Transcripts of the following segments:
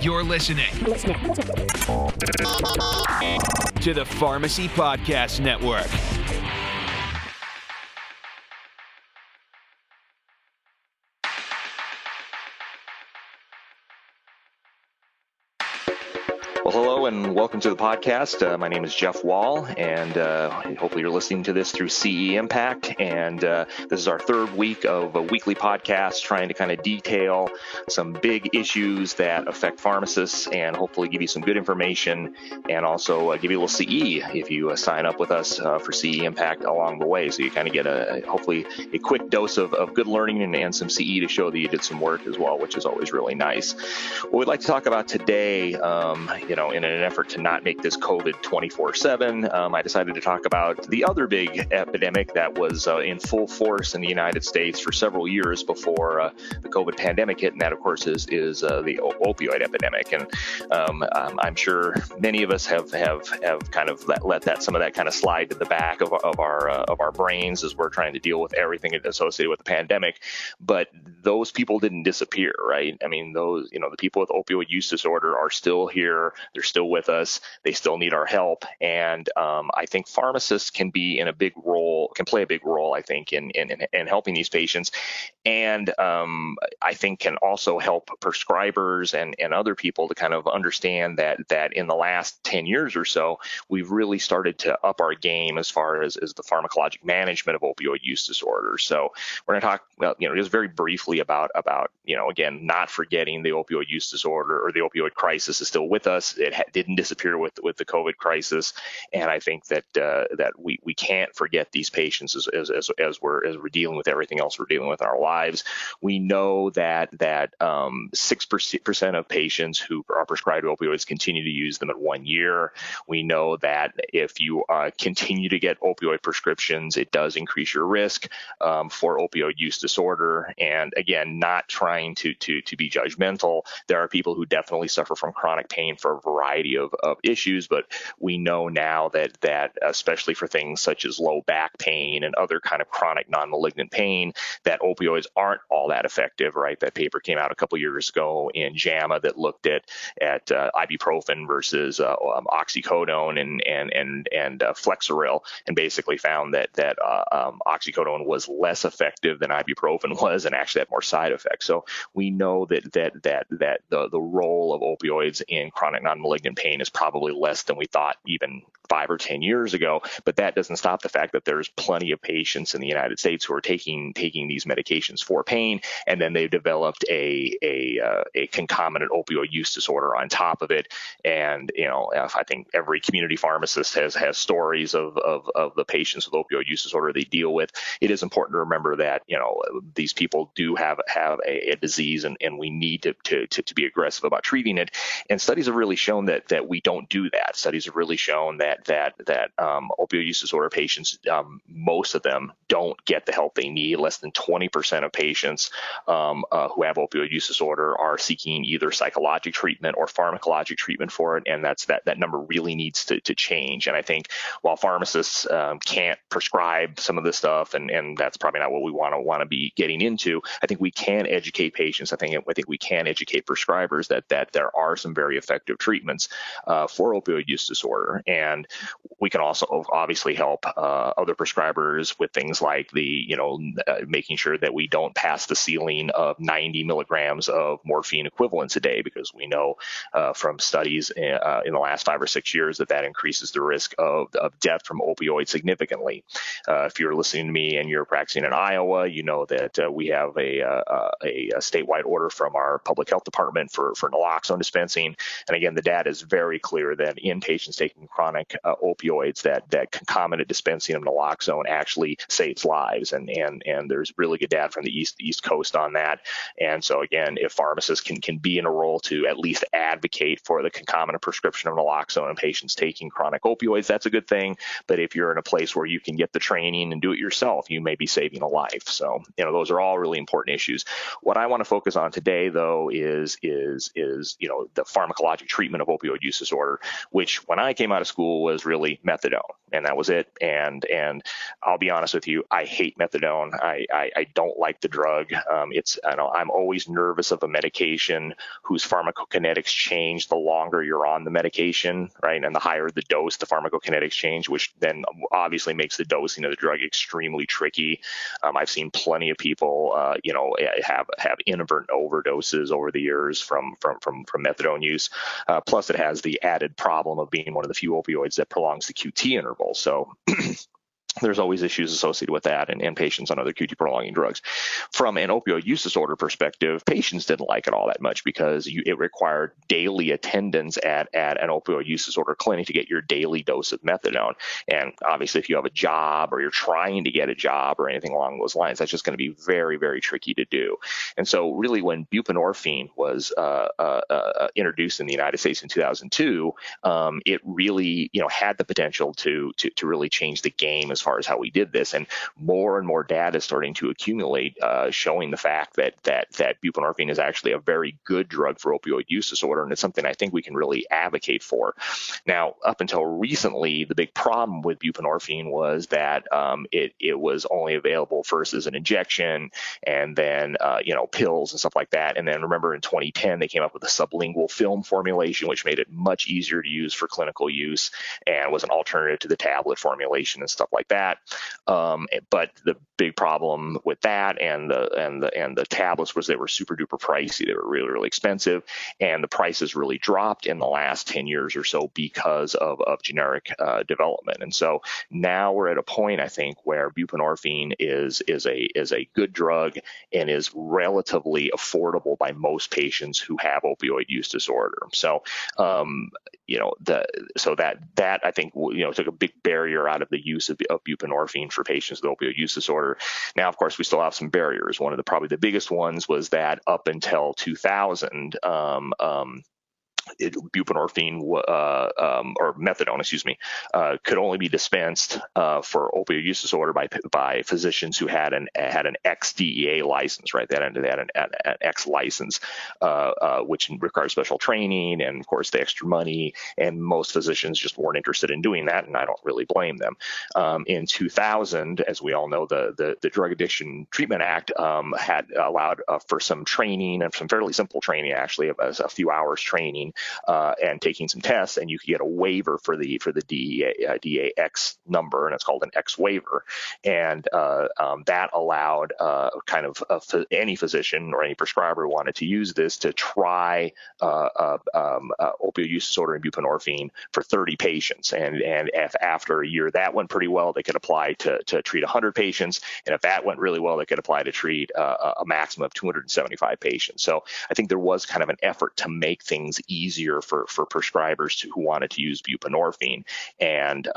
You're listening to the Pharmacy Podcast Network. Well, hello and welcome to the podcast. My name is Jeff Wall, and hopefully you're listening to this through CE Impact. And this is our third week of a weekly podcast trying to kind of detail some big issues that affect pharmacists and hopefully give you some good information and also give you a little CE if you sign up with us for CE Impact along the way. So you kind of get hopefully a quick dose of good learning and some CE to show that you did some work as well, which is always really nice. What we'd like to talk about today, in an effort to not make this COVID 24/7, I decided to talk about the other big epidemic that was in full force in the United States for several years before the COVID pandemic hit, and that, of course, is the opioid epidemic. And I'm sure many of us have kind of let some of that kind of slide to the back of our brains as we're trying to deal with everything associated with the pandemic. But those people didn't disappear, right? I mean, the people with opioid use disorder are still here. They're still with us. They still need our help. And I think pharmacists can play a big role, I think, in helping these patients. And I think can also help prescribers and other people to kind of understand that in the last 10 years or so, we've really started to up our game as far as the pharmacologic management of opioid use disorder. So we're going to talk, just very briefly about again, not forgetting the opioid use disorder or the opioid crisis is still with us. It didn't disappear with the COVID crisis, and I think that we can't forget these patients as we're dealing with everything else we're dealing with in our lives. We know that 6% of patients who are prescribed opioids continue to use them at 1 year. We know that if you continue to get opioid prescriptions, it does increase your risk for opioid use disorder. And again, not trying to be judgmental, there are people who definitely suffer from chronic pain for a variety of issues, but we know now that especially for things such as low back pain and other kind of chronic non-malignant pain, that opioids aren't all that effective, right? That paper came out a couple years ago in JAMA that looked at ibuprofen versus oxycodone and Flexeril, and basically found that oxycodone was less effective than ibuprofen was and actually had more side effects. So we know that the role of opioids in chronic non-malignant pain is probably less than we thought even 5 or 10 years ago, but that doesn't stop the fact that there's plenty of patients in the United States who are taking these medications for pain, and then they've developed a concomitant opioid use disorder on top of it. And I think every community pharmacist has stories of the patients with opioid use disorder they deal with. It is important to remember that these people do have a disease, and we need to be aggressive about treating it. And studies have really shown that we don't do that. Studies have really shown that opioid use disorder patients, most of them don't get the help they need. Less than 20% of patients who have opioid use disorder are seeking either psychologic treatment or pharmacologic treatment for it, and that number really needs to change. And I think while pharmacists can't prescribe some of this stuff, and that's probably not what we want to be getting into, I think we can educate patients. I think we can educate prescribers that there are some very effective treatments for opioid use disorder. And we can also obviously help other prescribers with things like making sure that we don't pass the ceiling of 90 milligrams of morphine equivalents a day, because we know from studies in the last 5 or 6 years that increases the risk of death from opioids significantly. If you're listening to me and you're practicing in Iowa, you know that we have a statewide order from our public health department for naloxone dispensing. And again, the data is very clear that in patients taking chronic opioids, that concomitant dispensing of naloxone actually saves lives. And there's really good data from the East Coast on that. And so again, if pharmacists can be in a role to at least advocate for the concomitant prescription of naloxone in patients taking chronic opioids, that's a good thing. But if you're in a place where you can get the training and do it yourself, you may be saving a life. So those are all really important issues. What I want to focus on today, though, is the pharmacologic treatment treatment of opioid use disorder, which when I came out of school was really methadone, and that was it. And I'll be honest with you, I hate methadone. I don't like the drug. I'm always nervous of a medication whose pharmacokinetics change the longer you're on the medication, right? And the higher the dose, the pharmacokinetics change, which then obviously makes the dosing of the drug extremely tricky. I've seen plenty of people, have inadvertent overdoses over the years from methadone use. Plus, it has the added problem of being one of the few opioids that prolongs the QT interval. So there's always issues associated with that and patients on other QT prolonging drugs. From an opioid use disorder perspective, patients didn't like it all that much because it required daily attendance at an opioid use disorder clinic to get your daily dose of methadone. And obviously, if you have a job or you're trying to get a job or anything along those lines, that's just going to be very, very tricky to do. And so really, when buprenorphine was introduced in the United States in 2002, it really had the potential to really change the game as far as how we did this, and more data is starting to accumulate showing the fact that buprenorphine is actually a very good drug for opioid use disorder, and it's something I think we can really advocate for. Now, up until recently, the big problem with buprenorphine was that it was only available first as an injection, and then pills and stuff like that. And then remember, in 2010, they came up with a sublingual film formulation, which made it much easier to use for clinical use and was an alternative to the tablet formulation and stuff like that. But the big problem with that and the tablets was they were super duper pricey. They were really, really expensive, and the prices really dropped in the last 10 years or so because of generic development. And so now we're at a point, I think, where buprenorphine is a good drug and is relatively affordable by most patients who have opioid use disorder. So that I think took a big barrier out of the use of buprenorphine for patients with opioid use disorder. Now, of course, we still have some barriers. One of probably the biggest ones was that up until 2000, buprenorphine or methadone, could only be dispensed for opioid use disorder by physicians who had an ex-DEA license, right? They had an X license, which requires special training and, of course, the extra money. And most physicians just weren't interested in doing that, and I don't really blame them. In 2000, as we all know, the Drug Addiction Treatment Act had allowed for some training, and some fairly simple training, actually, of a few hours training. And taking some tests, and you could get a waiver for the DEA X number, and it's called an X waiver. And that allowed any physician or any prescriber who wanted to use this to try opioid use disorder and buprenorphine for 30 patients. And if after a year that went pretty well, they could apply to treat 100 patients. And if that went really well, they could apply to treat a maximum of 275 patients. So I think there was kind of an effort to make things easier for prescribers who wanted to use buprenorphine. And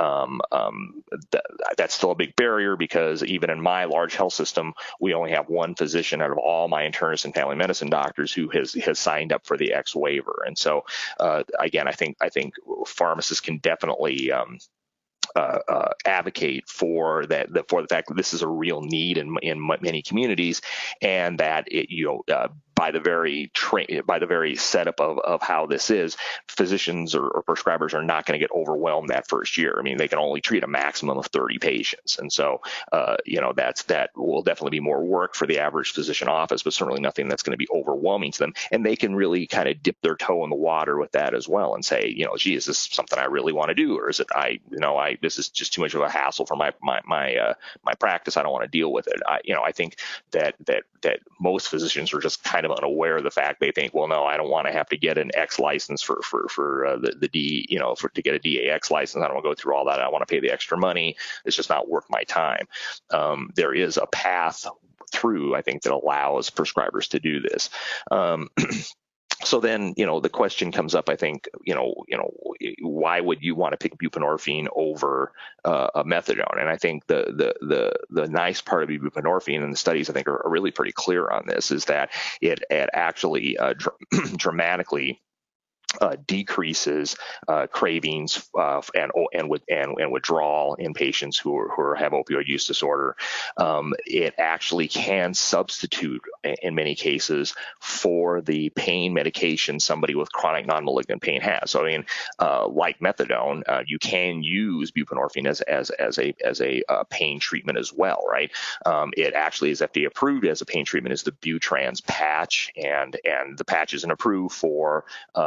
that's still a big barrier, because even in my large health system, we only have one physician out of all my internist and family medicine doctors who has signed up for the X waiver. And so, again, I think pharmacists can definitely advocate for the fact that this is a real need in many communities, and that by the very setup of how this is, physicians or prescribers are not going to get overwhelmed that first year. I mean, they can only treat a maximum of 30 patients, and so that will definitely be more work for the average physician office, but certainly nothing that's going to be overwhelming to them. And they can really kind of dip their toe in the water with that as well, and say, gee, is this something I really want to do, or is it this is just too much of a hassle for my practice. I don't want to deal with it. I think that most physicians are just kind of unaware of the fact. They think, well, no, I don't want to have to get an X license for the D, to get a DAX license. I don't want to go through all that. I want to pay the extra money. It's just not worth my time. There is a path through, I think, that allows prescribers to do this. So then, the question comes up, I think, why would you want to pick buprenorphine over a methadone? And I think the nice part of buprenorphine, and the studies I think are really pretty clear on this, is that it actually dramatically decreases cravings and withdrawal in patients who have opioid use disorder. It actually can substitute, in many cases, for the pain medication somebody with chronic non-malignant pain has. So, I mean, like methadone, you can use buprenorphine as a pain treatment as well, right? It actually is FDA approved as a pain treatment as the Butrans patch, and the patch isn't approved for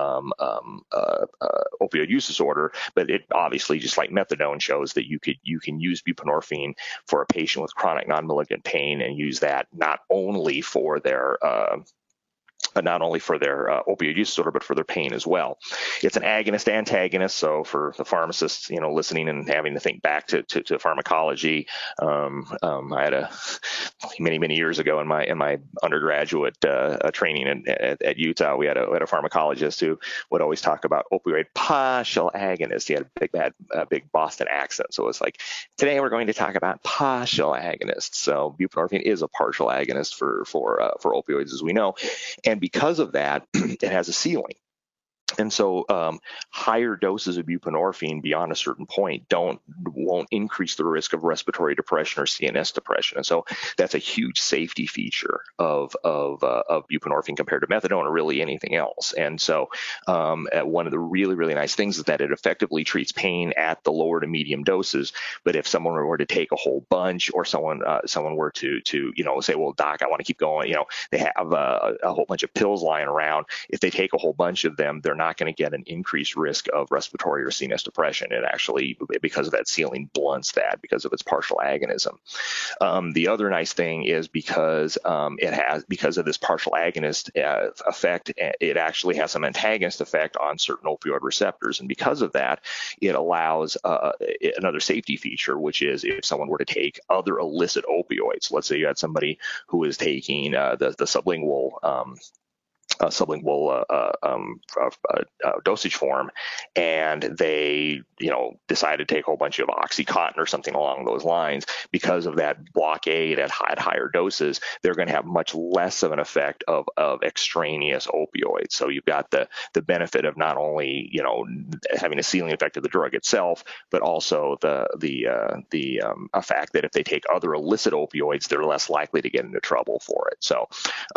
opioid use disorder, but it obviously, just like methadone, shows that you can use buprenorphine for a patient with chronic non-malignant pain and use that not only for their opioid use disorder, but for their pain as well. It's an agonist-antagonist, so for the pharmacists, listening and having to think back to pharmacology, I had many years ago in my undergraduate training at Utah, we had a pharmacologist who would always talk about opioid partial agonists. He had a big Boston accent, so it's like, today we're going to talk about partial agonists. So buprenorphine is a partial agonist for opioids, as we know, and because of that, it has a ceiling. And so higher doses of buprenorphine beyond a certain point won't increase the risk of respiratory depression or CNS depression. And so that's a huge safety feature of buprenorphine compared to methadone or really anything else. And so one of the really, really nice things is that it effectively treats pain at the lower to medium doses. But if someone were to take a whole bunch, or someone were to say, well, doc, I want to keep going, they have a whole bunch of pills lying around. If they take a whole bunch of them, they're not going to get an increased risk of respiratory or CNS depression. It actually, because of that ceiling, blunts that because of its partial agonism. The other nice thing is because of this partial agonist effect, it actually has some antagonist effect on certain opioid receptors. And because of that, it allows another safety feature, which is if someone were to take other illicit opioids. Let's say you had somebody who is taking the sublingual dosage form, and they decide to take a whole bunch of OxyContin or something along those lines. Because of that blockade at higher doses, they're going to have much less of an effect of extraneous opioids. So you've got the benefit of not only having a ceiling effect of the drug itself, but also the fact that if they take other illicit opioids, they're less likely to get into trouble for it. So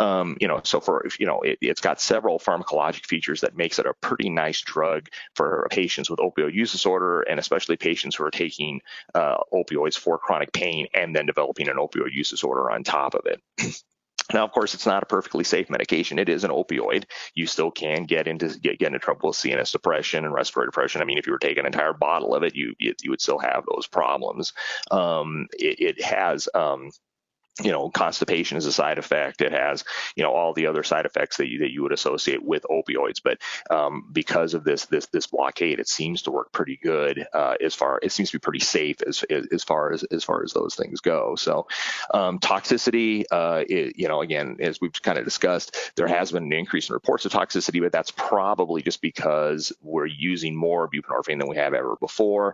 it's got several pharmacologic features that makes it a pretty nice drug for patients with opioid use disorder, and especially patients who are taking opioids for chronic pain and then developing an opioid use disorder on top of it. Now, of course, it's not a perfectly safe medication. It is an opioid. You still can get into trouble with CNS depression and respiratory depression. I mean, if you were taking an entire bottle of it, you would still have those problems. It has constipation is a side effect. It has, all the other side effects that you would associate with opioids. But because of this blockade, it seems to work pretty good. It seems to be pretty safe as far as those things go. So toxicity, again, as we've kind of discussed, there has been an increase in reports of toxicity, but that's probably just because we're using more buprenorphine than we have ever before.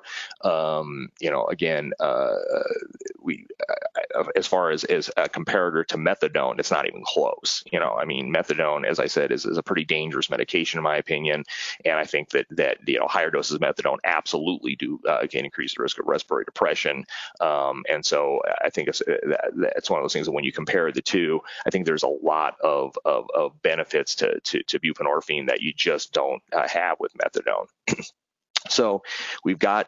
As far as a comparator to methadone, it's not even close. Methadone, as I said, is a pretty dangerous medication in my opinion, and I think that higher doses of methadone absolutely can increase the risk of respiratory depression. And so I think it's one of those things that when you compare the two, I think there's a lot of benefits to buprenorphine that you just don't have with methadone. So we've got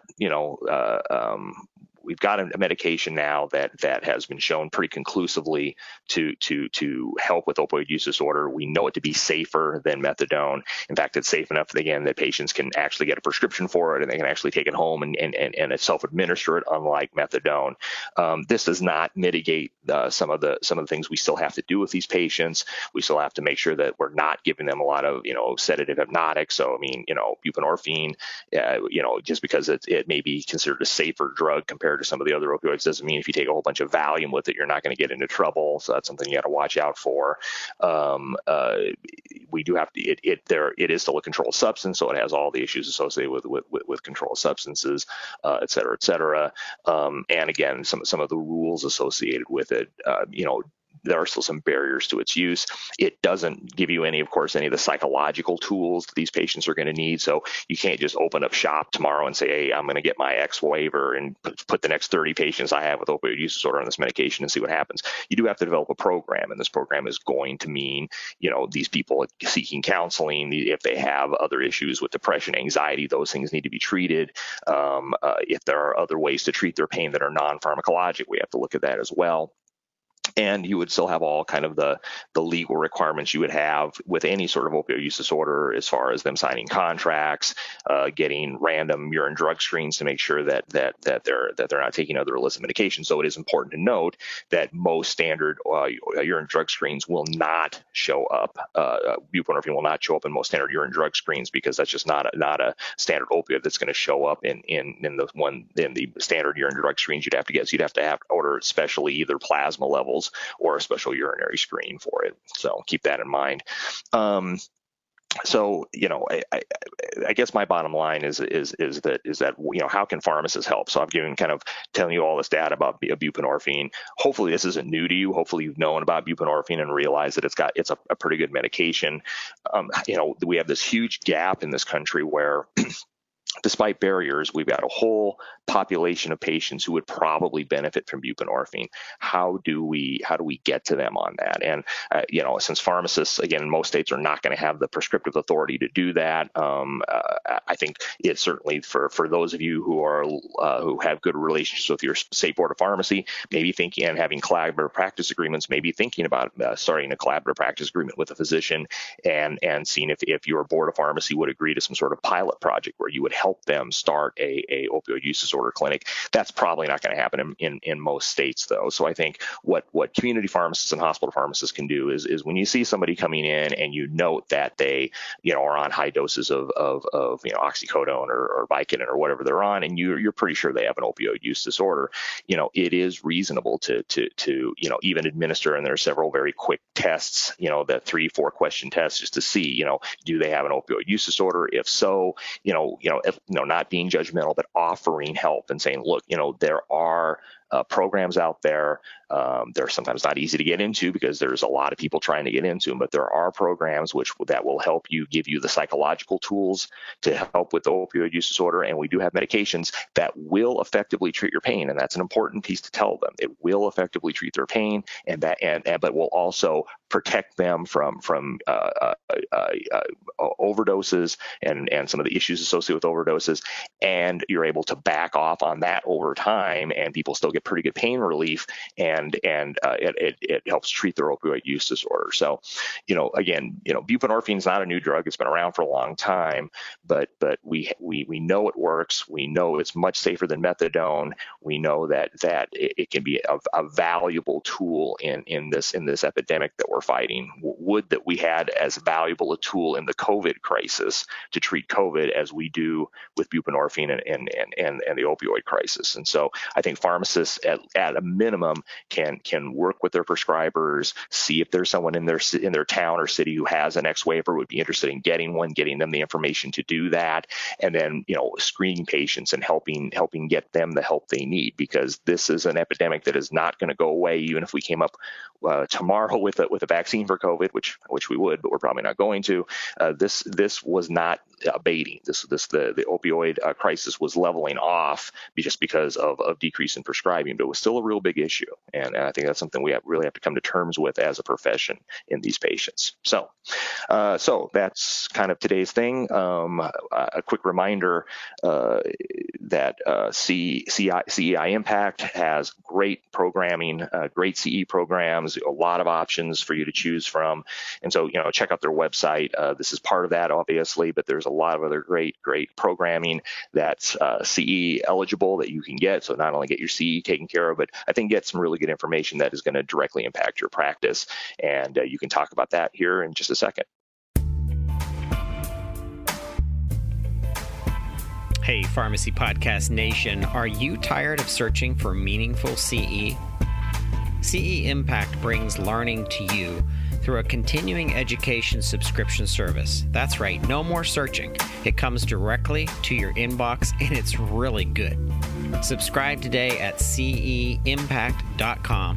a medication now that has been shown pretty conclusively to help with opioid use disorder. We know it to be safer than methadone. In fact, it's safe enough, again, that patients can actually get a prescription for it, and they can actually take it home and self-administer it, unlike methadone. This does not mitigate some of the things we still have to do with these patients. We still have to make sure that we're not giving them a lot of sedative hypnotics. So buprenorphine, just because it may be considered a safer drug compared to some of the other opioids doesn't mean if you take a whole bunch of Valium with it, you're not going to get into trouble. So that's something you got to watch out for. We do have to. It is still a controlled substance, so it has all the issues associated with controlled substances, et cetera, et cetera. And again, some of the rules associated with it. there are still some barriers to its use. It doesn't give you any of the psychological tools that these patients are going to need. So you can't just open up shop tomorrow and say, hey, I'm going to get my X waiver and put the next 30 patients I have with opioid use disorder on this medication and see what happens. You do have to develop a program, and this program is going to mean, these people seeking counseling, if they have other issues with depression, anxiety, those things need to be treated. If there are other ways to treat their pain that are non-pharmacologic, we have to look at that as well. And you would still have all kind of the legal requirements you would have with any sort of opioid use disorder, as far as them signing contracts, getting random urine drug screens to make sure that they're not taking other illicit medications. So it is important to note that most standard urine drug screens will not show up. Buprenorphine will not show up in most standard urine drug screens, because that's just not a standard opioid that's going to show up in the standard urine drug screens you'd have to get. So you'd have to order specially either plasma levels or a special urinary screen for it. So keep that in mind. So, I guess my bottom line is that how can pharmacists help? So I've telling you all this data about buprenorphine. Hopefully this isn't new to you. Hopefully you've known about buprenorphine and realized that it's a pretty good medication. We have this huge gap in this country where despite barriers, we've got a whole population of patients who would probably benefit from buprenorphine. How do we get to them on that? And since pharmacists, again, in most states are not going to have the prescriptive authority to do that, I think it's certainly for those of you who have good relationships with your state board of pharmacy, maybe thinking and having collaborative practice agreements, maybe thinking about starting a collaborative practice agreement with a physician and seeing if your board of pharmacy would agree to some sort of pilot project where you would help them start a opioid use disorder clinic. That's probably not going to happen in most states, though. So I think what community pharmacists and hospital pharmacists can do is when you see somebody coming in and you note that they are on high doses of oxycodone or Vicodin or whatever they're on, and you're pretty sure they have an opioid use disorder, it is reasonable to even administer, and there are several very quick tests, the 3-4 question tests, just to see, do they have an opioid use disorder? If so, not being judgmental, but offering help and saying, look, there are programs out there. They're sometimes not easy to get into because there's a lot of people trying to get into them, but there are programs that will help you, give you the psychological tools to help with the opioid use disorder. And we do have medications that will effectively treat your pain. And that's an important piece to tell them. It will effectively treat their pain, but will also protect them from overdoses and some of the issues associated with overdoses. And you're able to back off on that over time, and people still get pretty good pain relief, and it helps treat their opioid use disorder. So, again, buprenorphine is not a new drug. It's been around for a long time, but we know it works. We know it's much safer than methadone. We know that it can be a valuable tool in this epidemic that we're fighting. Would that we had as valuable a tool in the COVID crisis to treat COVID as we do with buprenorphine and the opioid crisis. And so I think pharmacists at a minimum can work with their prescribers, see if there's someone in their town or city who has an X waiver, would be interested in getting one, getting them the information to do that, and then screening patients and helping get them the help they need, because this is an epidemic that is not going to go away even if we came up tomorrow with a vaccine for COVID, which we would, but we're probably not going to. This was not abating. The opioid crisis was leveling off just because of decrease in prescribing, but it was still a real big issue. And I think that's something we really have to come to terms with as a profession in these patients. So that's kind of today's thing. A quick reminder that CEI Impact has great programming, great CE programs, a lot of options for you to choose from. And so, check out their website. This is part of that, obviously, but there's a lot of other great programming that's CE eligible that you can get. So not only get your CE taken care of, but I think get some really good information that is going to directly impact your practice. And you can talk about that here in just a second. Hey, Pharmacy Podcast Nation, are you tired of searching for meaningful CE? CE Impact brings learning to you through a continuing education subscription service. That's right, no more searching. It comes directly to your inbox, and it's really good. Subscribe today at ceimpact.com.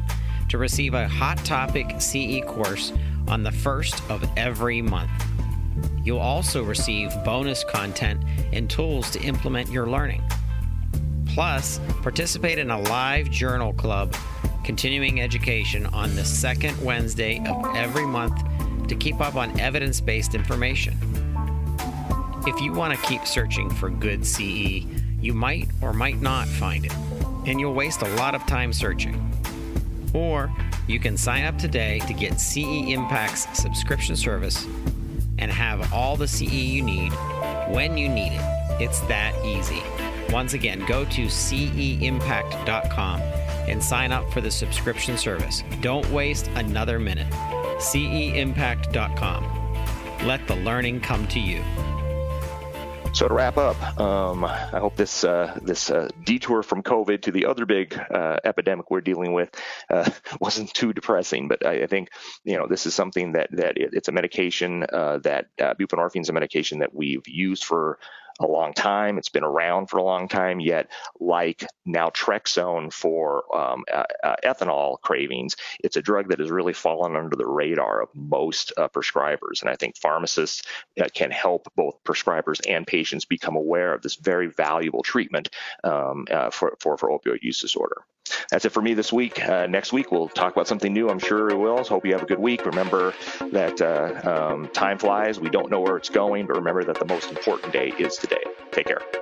to receive a Hot Topic CE course on the first of every month. You'll also receive bonus content and tools to implement your learning. Plus, participate in a live journal club continuing education on the second Wednesday of every month to keep up on evidence-based information. If you want to keep searching for good CE, you might or might not find it, and you'll waste a lot of time searching. Or you can sign up today to get CE Impact's subscription service and have all the CE you need when you need it. It's that easy. Once again, go to ceimpact.com and sign up for the subscription service. Don't waste another minute. ceimpact.com. Let the learning come to you. So to wrap up, I hope this detour from COVID to the other big epidemic we're dealing with wasn't too depressing. But I think this is something that it's a medication that buprenorphine is a medication that we've used for a long time. It's been around for a long time, yet like naltrexone for ethanol cravings, it's a drug that has really fallen under the radar of most prescribers. And I think pharmacists can help both prescribers and patients become aware of this very valuable treatment for opioid use disorder. That's it for me this week. Next week, we'll talk about something new. I'm sure we will. So hope you have a good week. Remember that time flies. We don't know where it's going, but remember that the most important day is today. Take care.